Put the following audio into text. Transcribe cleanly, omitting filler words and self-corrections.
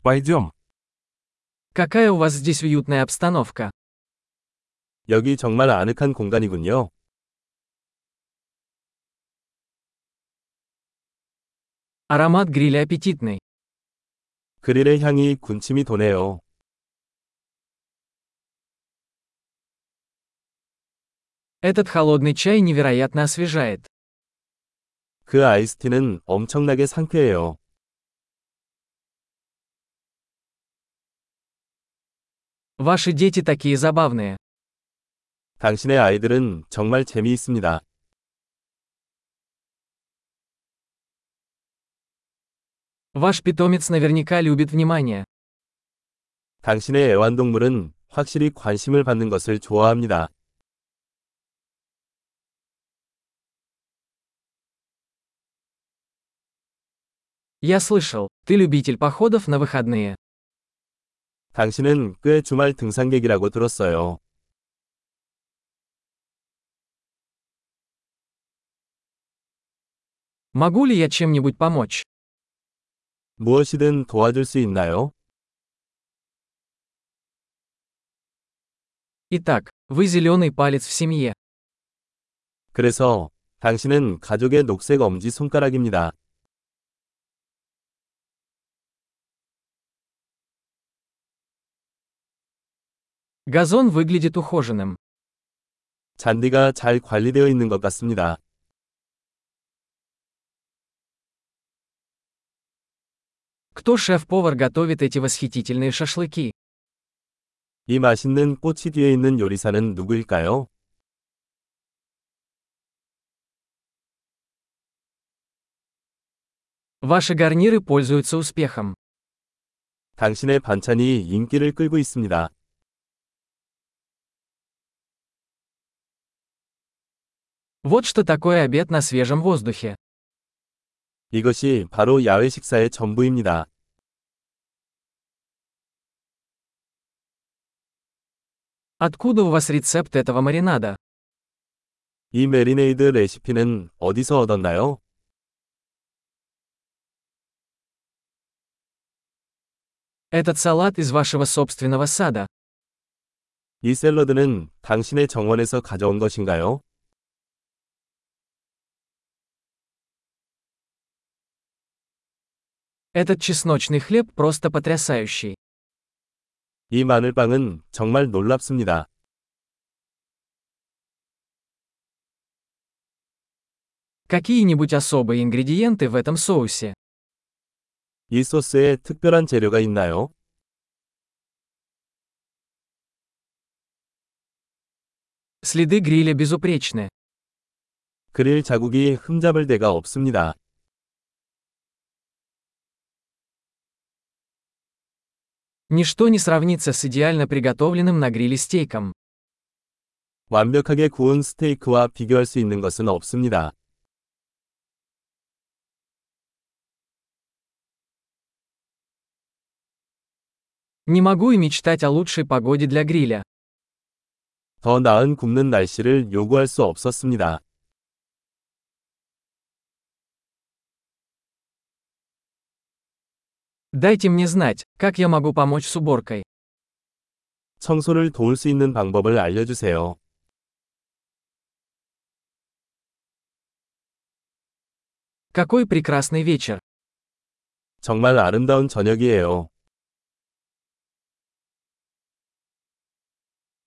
Пойдем. Какая у вас здесь уютная обстановка. 여기 정말 아늑한 공간이군요. Аромат гриля аппетитный. 그릴의 향이 군침이 도네요. Этот холодный чай невероятно освежает. 그 아이스티는 엄청나게 상쾌해요. Ваши дети такие забавные. 당신의 아이들은 정말 재미있습니다. Ваш питомец наверняка любит внимание. 당신의 애완동물은 확실히 관심을 받는 것을 좋아합니다. Я слышал, ты любитель походов на выходные. 당신은 꽤 주말 등산객이라고 들었어요. Могу ли я чем-нибудь помочь? 무엇이든 도와줄 수 있나요? Итак, вы зеленый палец в семье. 그래서 당신은 가족의 녹색 엄지손가락입니다. Газон выглядит ухоженным. 잔디가 잘 관리되어 있는 것 같습니다. Кто шеф-повар готовит эти восхитительные шашлыки? 이 맛있는 꽃이 뒤에 있는 요리사는 누구일까요? Ваши гарниры пользуются успехом. 당신의 반찬이 인기를 끌고 있습니다. Вот что такое обед на свежем воздухе. 이것이 바로 야외 식사의 전부입니다. Откуда у вас рецепт этого маринада? 이 메리네이드 레시피는 어디서 얻었나요? Этот салат из вашего собственного сада. 이 샐러드는 당신의 정원에서 가져온 것인가요? Этот чесночный хлеб просто потрясающий. 이 마늘빵은 정말 놀랍습니다. Какие-нибудь особые ингредиенты в этом соусе? 이 소스에 특별한 재료가 있나요? Следы гриля безупречны. 그릴 자국이 흠잡을 데가 없습니다. Ничто не сравнится с идеально приготовленным на гриле стейком. 완벽하게 구운 스테이크와 비교할 수 있는 것은 없습니다. Не могу и мечтать о лучшей погоде для гриля. 더 나은 굽는 날씨를 요구할 수 없었습니다. Дайте мне знать, как я могу помочь с уборкой. 청소를 도울 수 있는 방법을 알려주세요. Какой прекрасный вечер. 정말 아름다운 저녁이에요.